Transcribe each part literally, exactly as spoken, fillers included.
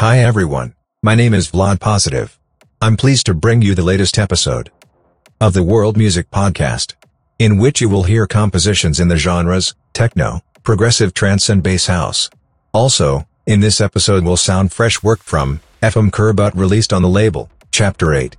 Hi everyone, my name is Vlad Positive. I'm pleased to bring you the latest episode of the World Music Podcast, in which you will hear compositions in the genres techno, progressive trance and bass house. Also, in this episode will sound fresh work from F M Kurbut released on the label Chapter eight.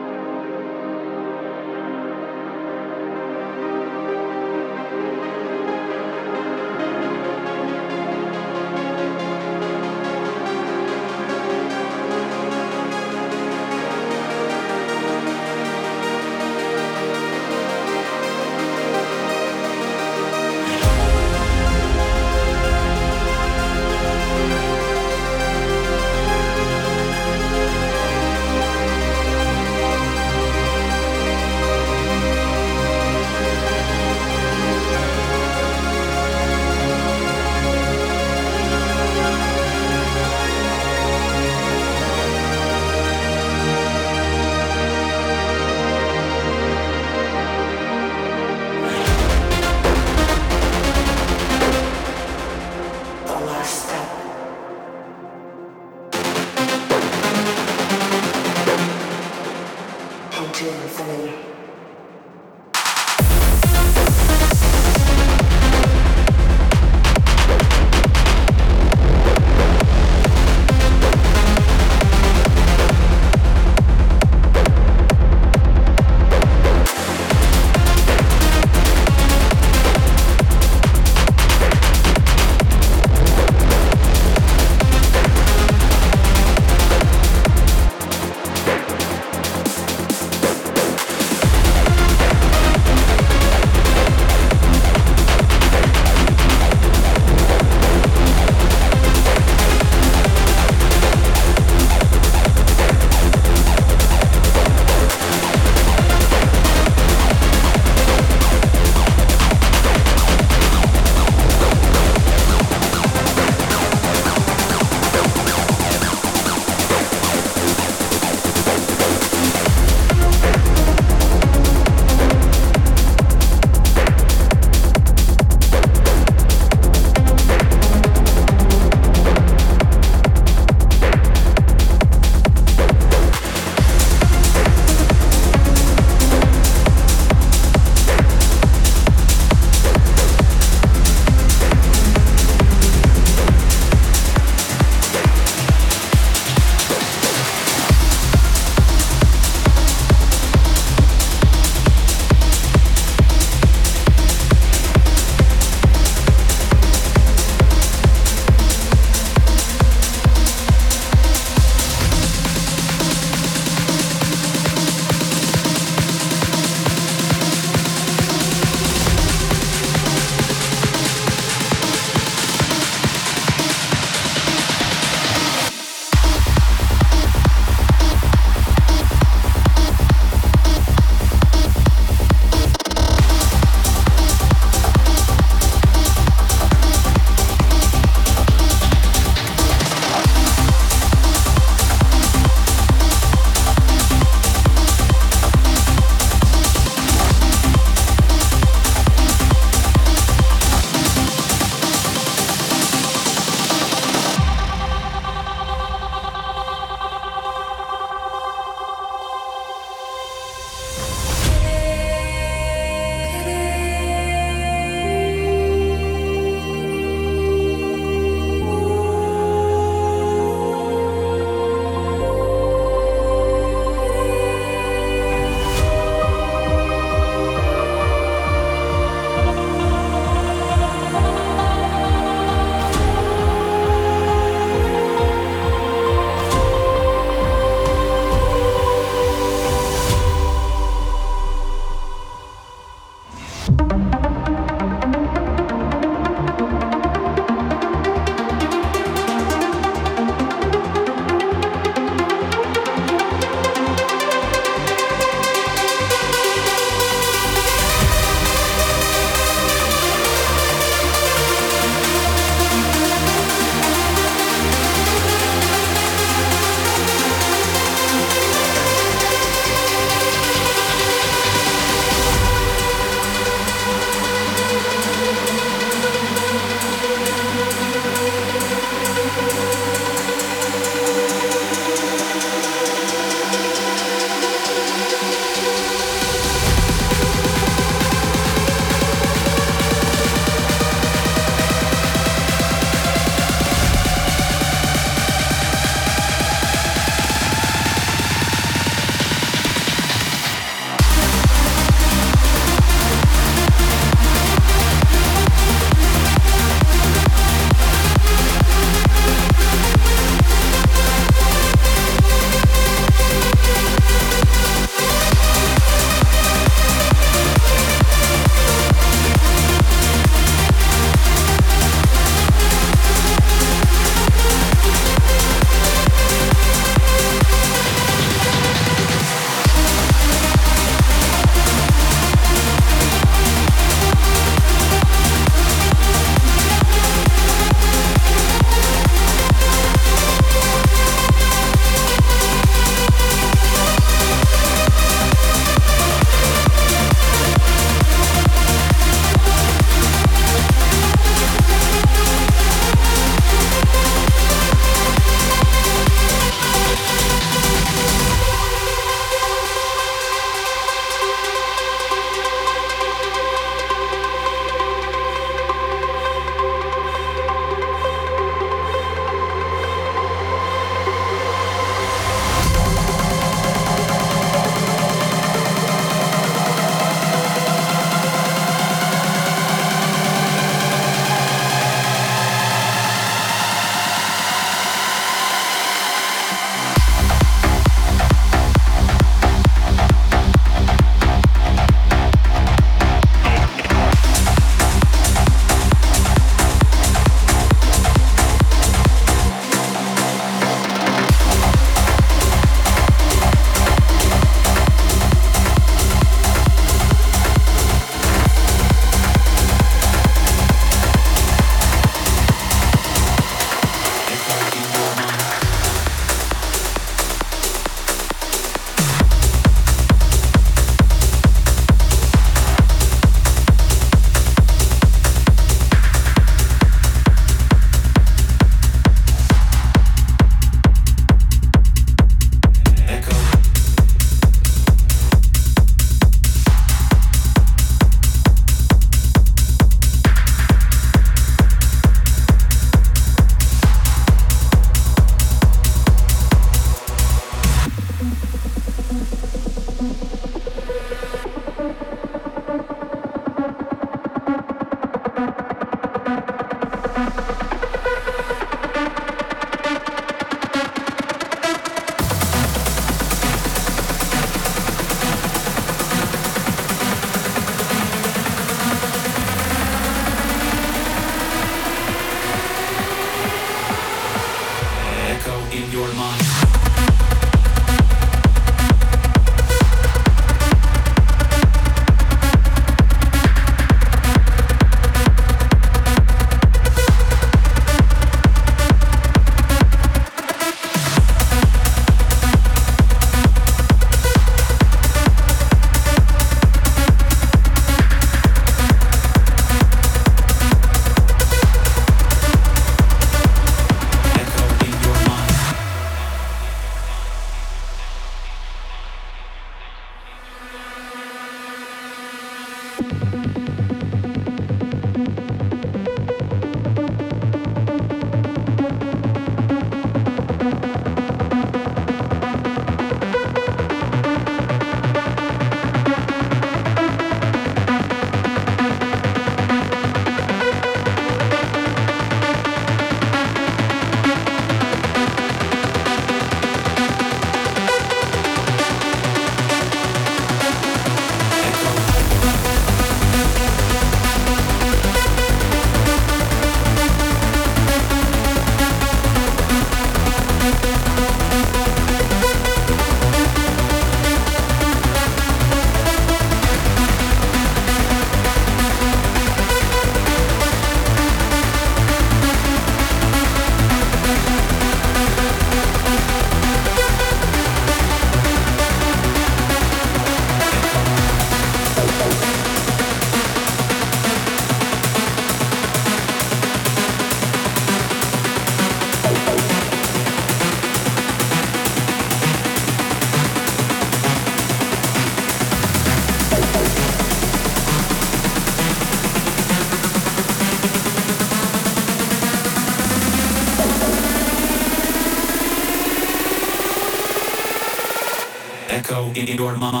Echo in your mind.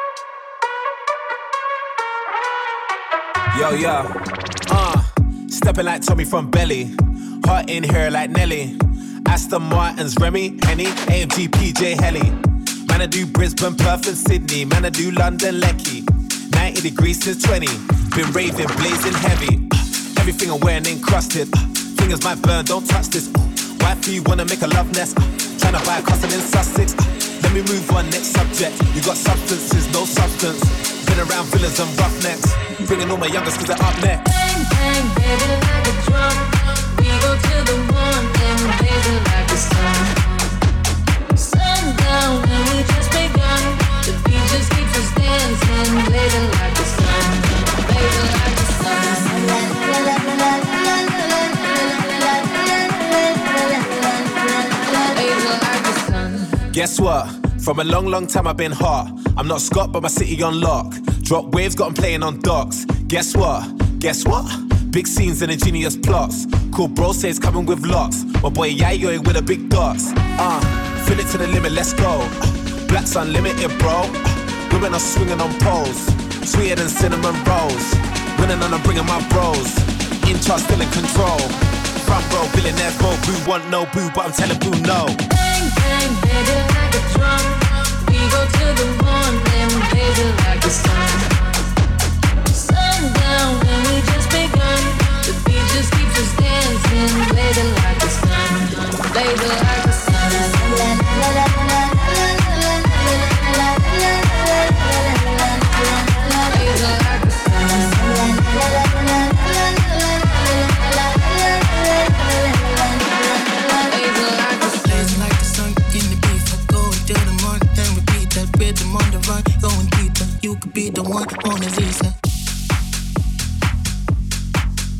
Yo, yo, uh, step Popping like Tommy from Belly. Heart in here like Nelly. Aston Martin's Remy, Henny, A M G, P J, Helly. Man, I do Brisbane, Perth and Sydney. Man, I do London, Lecky. ninety degrees since twenty. Been raving, blazing heavy. Everything I'm wearing encrusted. Fingers might burn, don't touch this. Wifey, you wanna make a love nest. Tryna buy a castle in Sussex. Let me move on, next subject. You got substances, no substance. Been around villains and roughnecks. Bringing all my youngest cause they're up next. Bang, bang, baby, like a drum. We go to the one, then we blaze it like the sun. Sundown, and we just begun. The beat just keeps us dancing, blazing like the sun. Blazing like the sun. Blazing like the sun. Guess what? From a long, long time I've been hot. I'm not Scott, but my city on lock. Drop waves, got 'em playing on docks. Guess what? Guess what? Big scenes and ingenious plots. Cool bro says coming with lots. My boy Yayo with the big dots. Uh, fill it to the limit, let's go. Black's unlimited, bro. Women are swinging on poles. Sweeter than cinnamon rolls. Winning and I'm bringing my bros. In charge, still in control. Front row, billionaire, bro. Boo want no boo, but I'm telling boo no. Bang, bang, baby, like a drum. We go to the one, then we blaze it like the sun. Sundown, and we just begun. The beat just keeps us dancing, blazing like the sun. Blazing like the sun. Blazing like the Blazing like the sun in the beef. I go till the morning, then repeat that rhythm on the run, going deeper. You could be the one on the visa.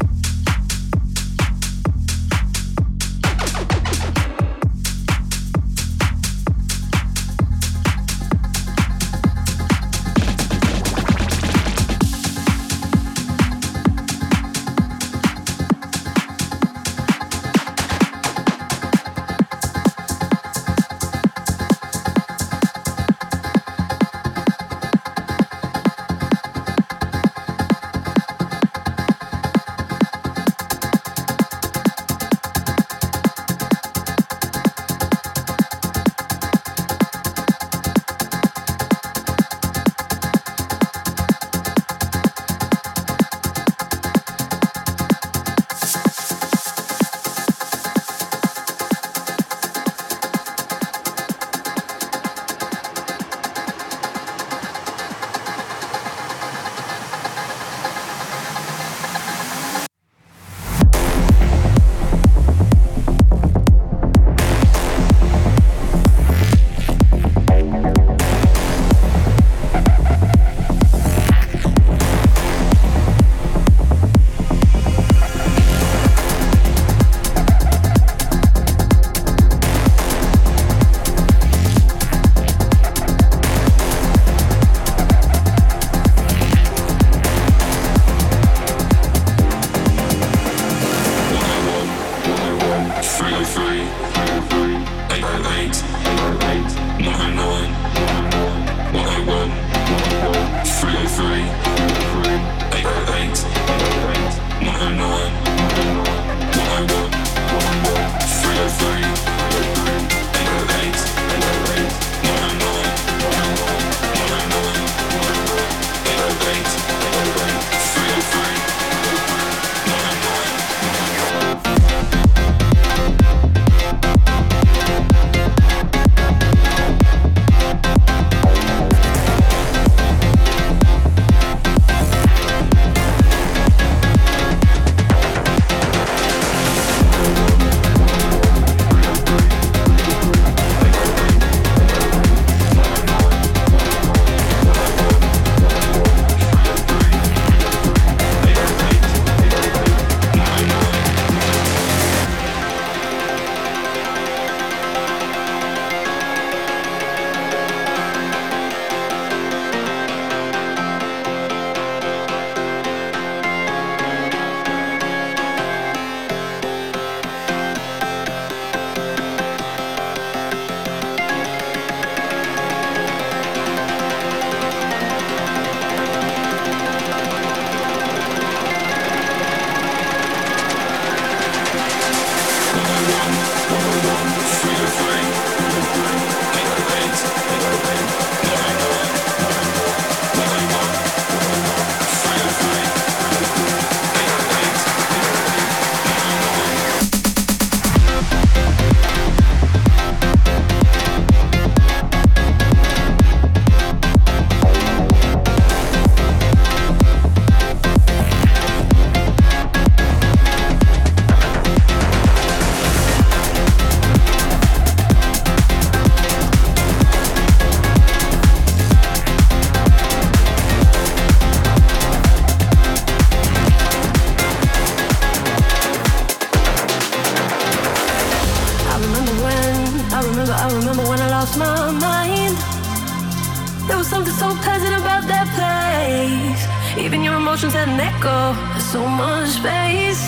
my mind. There was something so pleasant about that place. Even your emotions had an echo. There's so much space.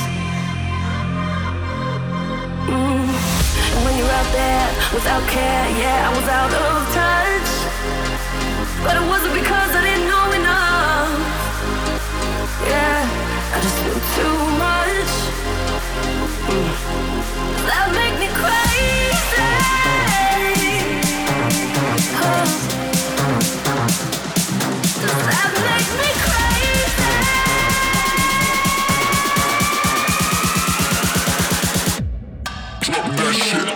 Mm. And when you're out there without care, yeah, I was out of touch. But it wasn't because I didn't know enough. Yeah, I just knew too much. Mm. That make me crazy. Oh. Does that make me crazy? Drop that shit.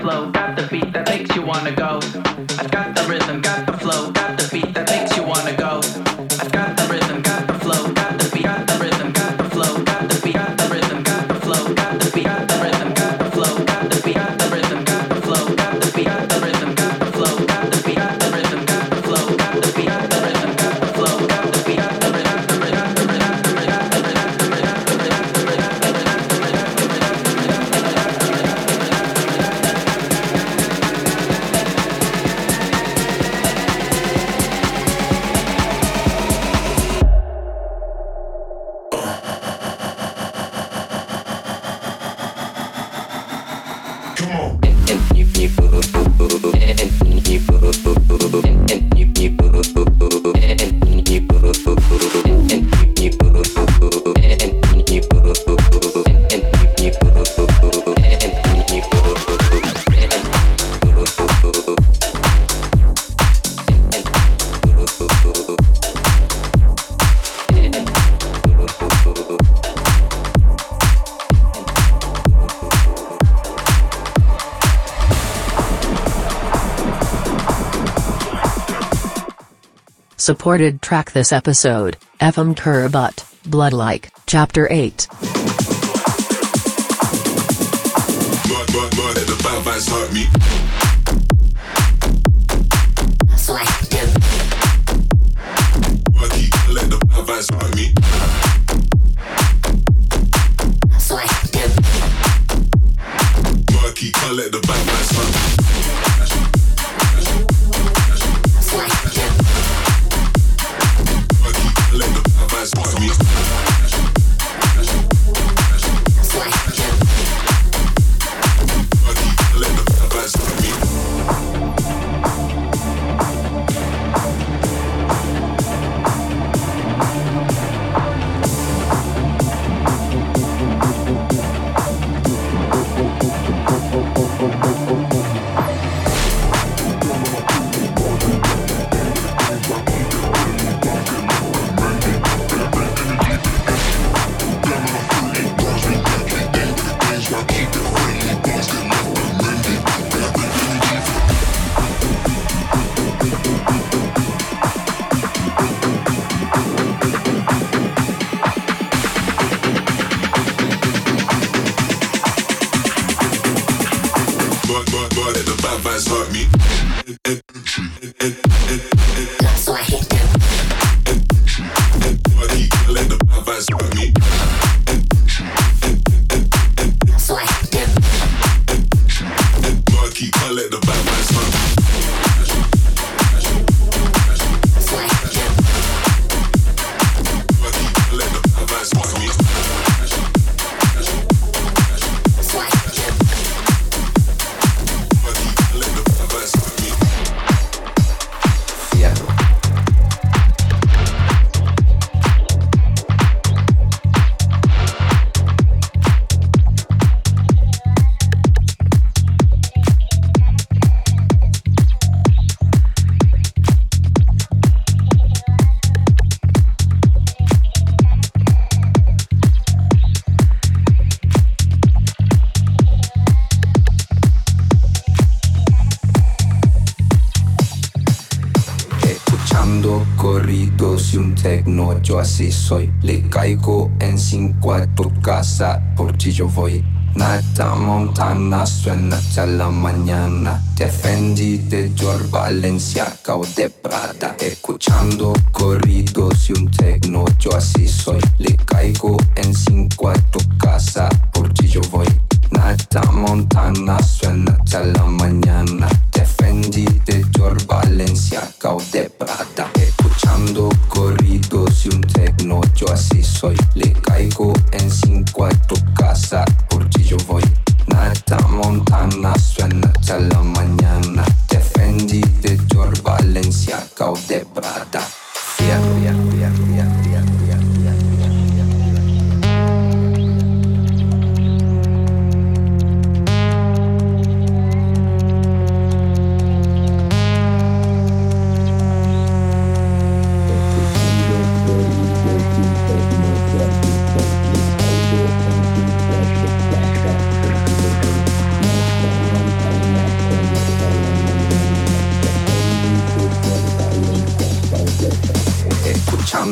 flow, got the beat that makes you wanna go. I've got the rhythm, got the flow, got the beat that makes you wanna go. I've got the rhythm, got the flow, got the beat, got the rhythm, got the flow, got the beat, got the rhythm, got the flow, got the beat, got the rhythm, got the flow, got the beat, got the rhythm, got the flow, got the beat, got the rhythm, got the flow, got the beat, got the rhythm, got the flow, got the beat, got the rhythm, got the flow, got the beat, got the rhythm, got the rhythm, got the rhythm, got the rhythm, got the rhythm, got the rhythm, got the rhythm, got the rhythm. Supported track this episode, F M Turbot, Bloodlike, Chapter eight. But, but, but, the bad vibes hurt me. Selective. But keep let the bad vibes hurt me. Selective. But keep let the bad vibes hurt me. Selective. But keep let the bad vibes hurt me. Selective. But keep let the bad vibes hurt me. But, but, but, the bad vibes hurt me. So I hit them. But keep let the bad vibes hurt me. So I hit them. But keep let the bad vibes hurt me. So I hit them. But keep let the bad vibes hurt me. So I hit them. But keep let the bad vibes hurt me. Fierro. Escuchando corridos y un tecno, yo así soy. Le caigo en cinco a tu casa, por ti yo voy. Nata Montana suena hasta la mañana. De Fendi, de Dior, Balenciaga o de Prada. Escuchando corridos y un tecno, yo así soy. Le caigo en cinco a tu casa, por ti yo voy. Nata Montana suena hasta la mañana. De Fendi, de Dior, Balenciaga o de Prada. Escuchando corridos y un tecno, yo así soy. Le caigo en cinco a tu casa, por ti yo voy. Nata Montana suena hasta la mañana. De Fendi, de Dior, Balenciaga o de Prada. Fierro, fierro, fierro, fierro, fierro, fierro, fierro.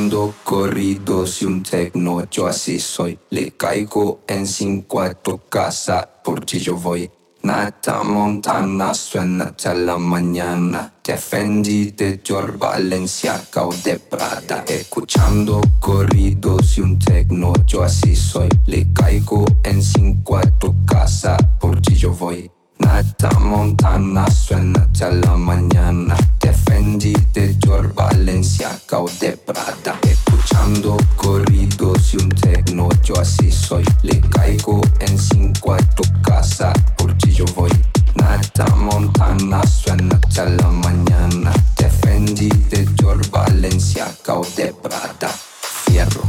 escuchando corridos y un techno, yo así soy. Le caigo en cinco a tu casa, por ti yo voy. Nata Montana suena hasta la mañana. De Fendi, de Dior, Balenciaga o de Prada. Escuchando corridos y un techno, yo así soy. Le caigo en cinco a tu casa, por ti yo voy. Nata Montana suena hasta la mañana. De Fendi, de Dior, Balenciaga o de Prada. Escuchando corridos y un techno, yo así soy. Le caigo en cinco a tu casa, por ti yo voy. Nata Montana suena hasta la mañana. De Fendi, de Dior, Balenciaga o de Prada. Fierro.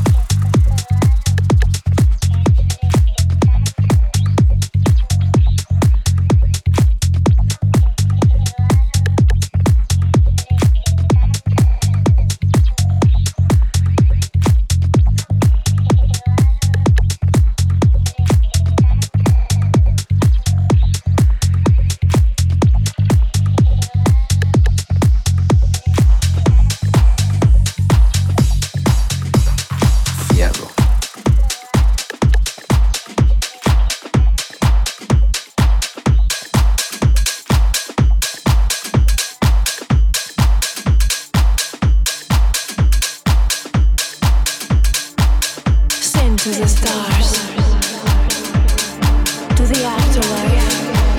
To the stars, to the afterlife.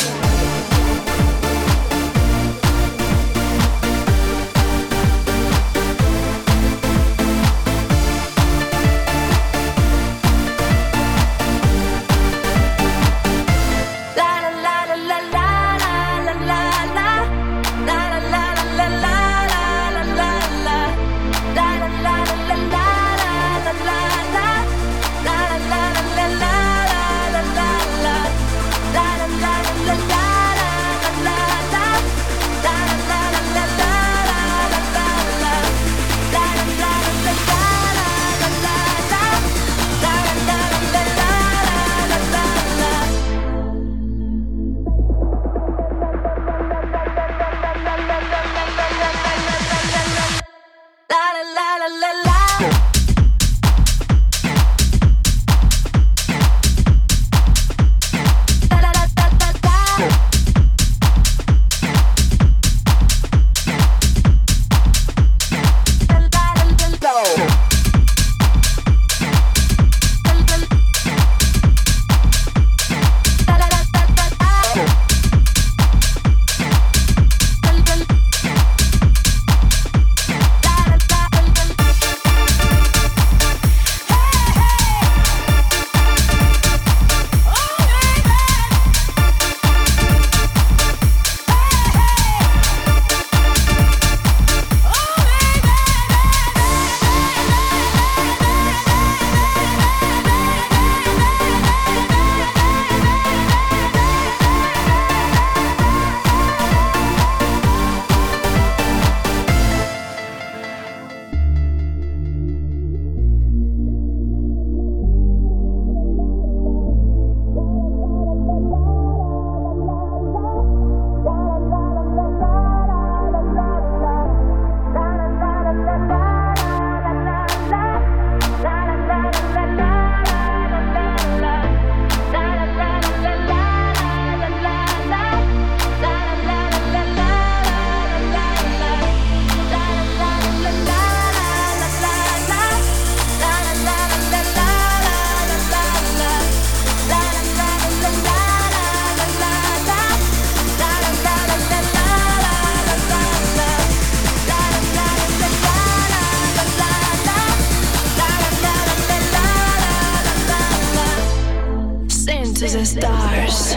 Stars.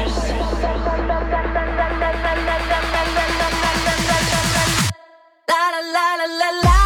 La la la la la la.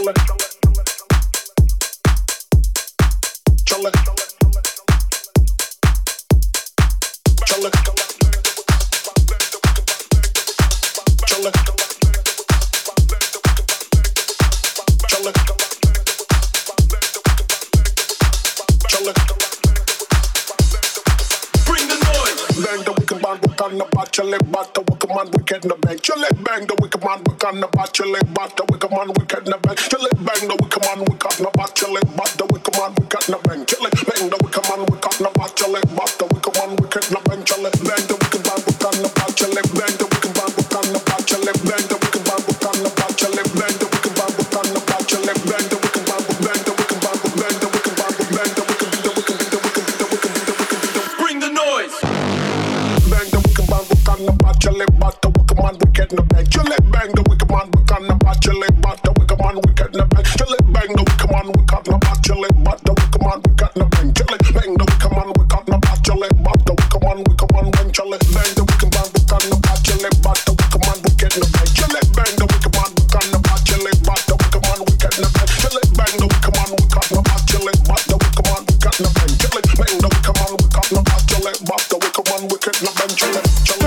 Chile bata wicked man wicked na bang. Chile bang the wicked man wicked na bat. Chile bata wicked man wicked na bang. Chile bang the wicked man wicked na bat. Chile bata wicked man wicked na bang. Chile bang the wicked man wicked na bat. Chile bata wicked man wicked na bang. Chile bang the wicked man wicked na bat. Chile bang the wicked man wicked na bat. Chile bang the wicked man wicked na bat. Chile bang the wicked man wicked na bat. Chile bang the wicked man bang the wicked man bang the wicked man bang the wicked the wicked the wicked the wicked. Bring the noise. Bang the wicked man wicked na bat. Chile bata wicked man wicked na bang. Chile bang the wicked man wicked na bat. Chile bata wicked man wicked na bang. Chile bang the wicked man wicked na bat. Chile bata wicked man wicked na bang. Chile bang the wicked man wicked na bat. Chile bata wicked man wicked man bang. Chile bang the wicked man wicked na bat. Chile bata wicked man wicked na bang. Chile bang the wicked man wicked na bat. Chile bata wicked man wicked na bang. Chile bang the wicked man wicked na bat. Chile bata wicked man wicked na bang. Chile bang the wicked man wicked na bat. Chile bata wicked man wicked na bang. Chile chile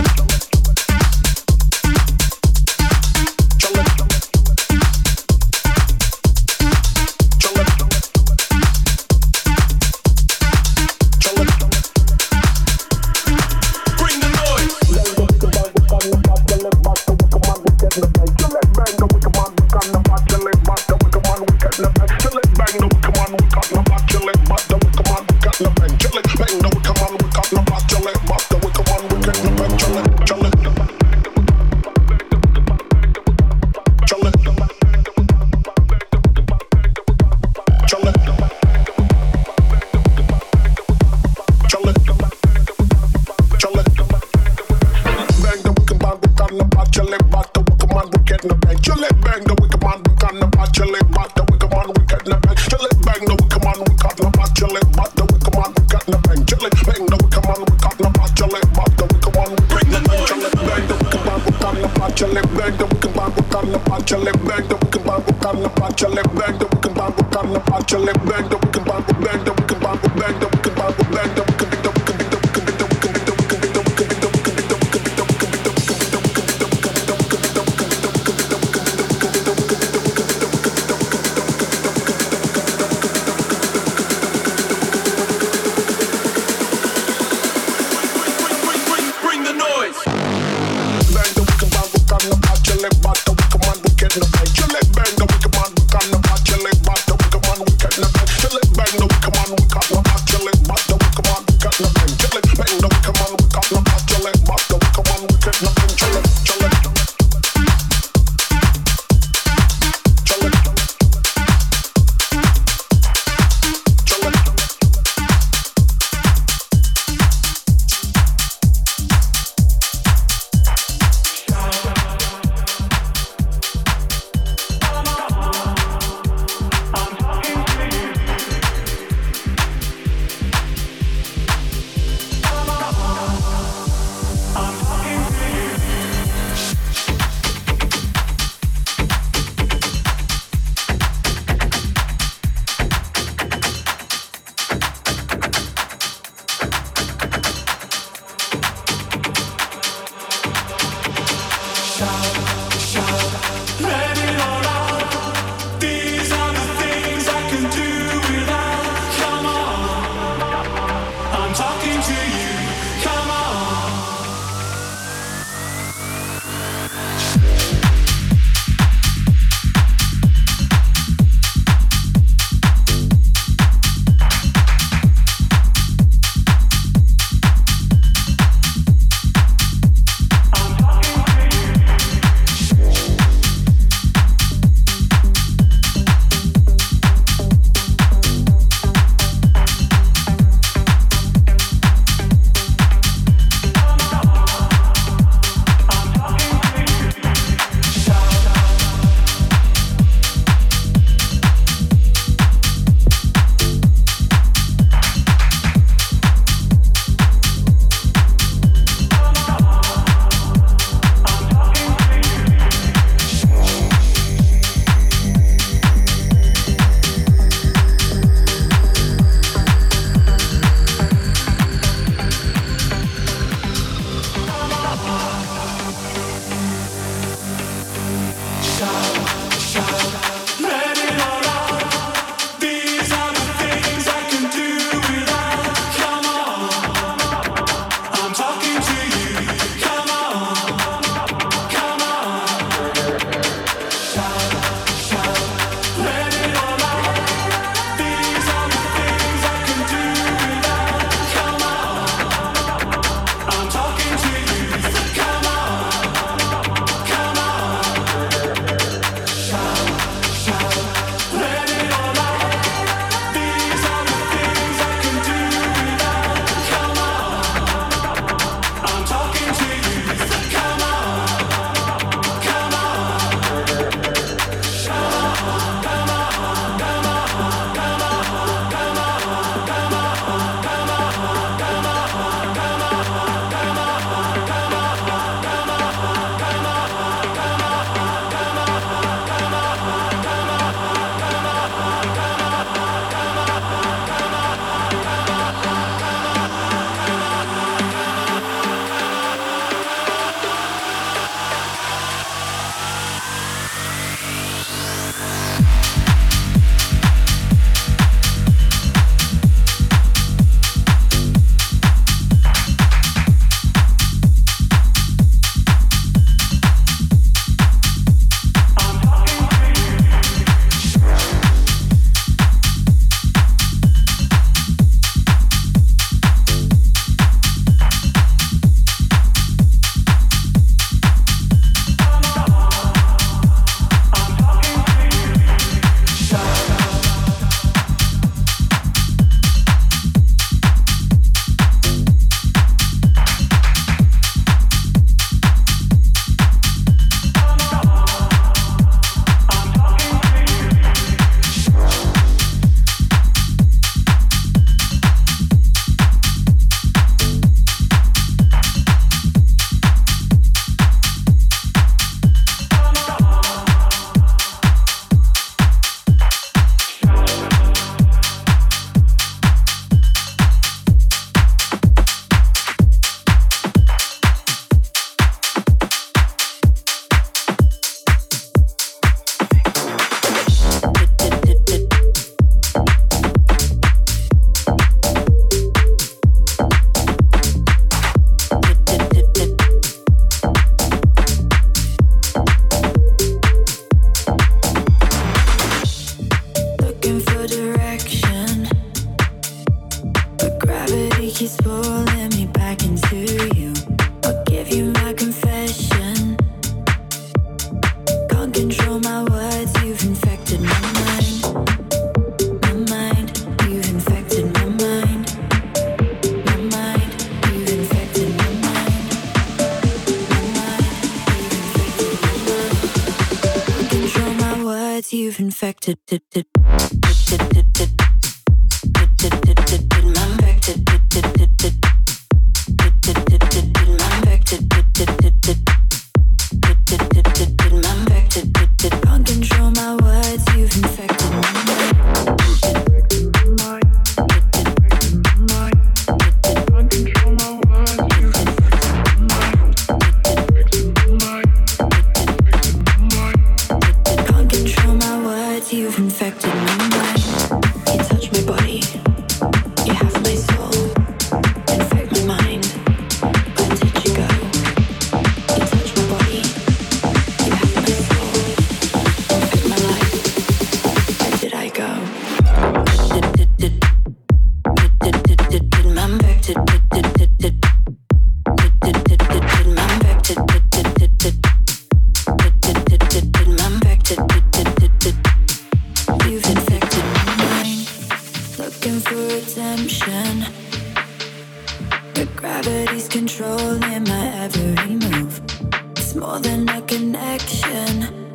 control my words, you've infected my mind. My mind, you've infected my mind. My mind, you've infected my mind. My mind, you've infected my mind. Can't control my words, you've infected. Can't control my words, you've infected my mind. Can't control my words, you've infected my mind. Can't control my words, you've infected my mind. You touch my body, you have my soul, infect my mind. Where did you go? You touch my body, you have my soul, infect my life. Where did I go? I'm infected. You've infected my mind, looking for redemption. But gravity's controlling my every move. It's more than a connection.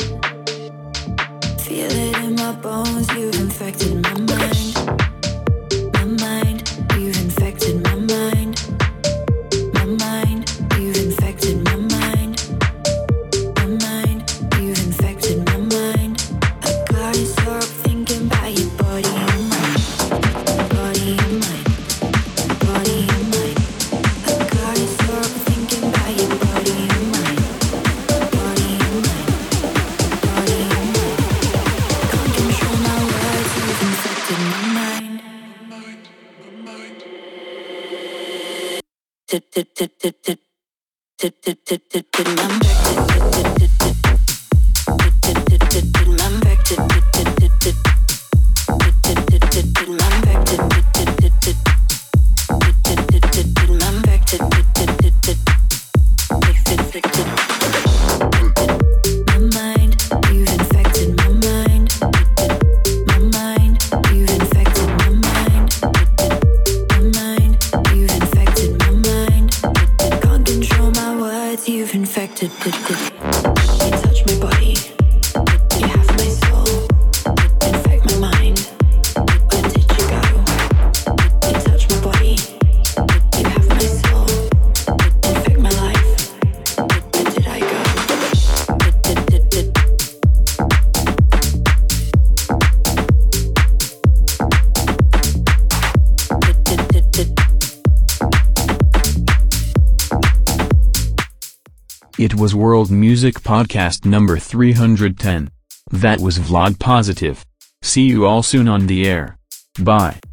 Feel it in my bones, you've infected my mind. My mind, you've infected my mind. My mind, you've infected my mind. My mind, you've infected my mind. I gotta stop thinking about your body and mind. Body and mind. Body and mind. I gotta stop thinking about your body and mind. Body and mind. Body and mind. Can't control my words, you've infected my mind. You've infected. You touch my body, you have my soul, infect my mind. Where did you go? You touch my body, you have my soul, infect my life. Where did I go? It was World Music Podcast number three hundred ten. That was Vlad Positive. See you all soon on the air. Bye.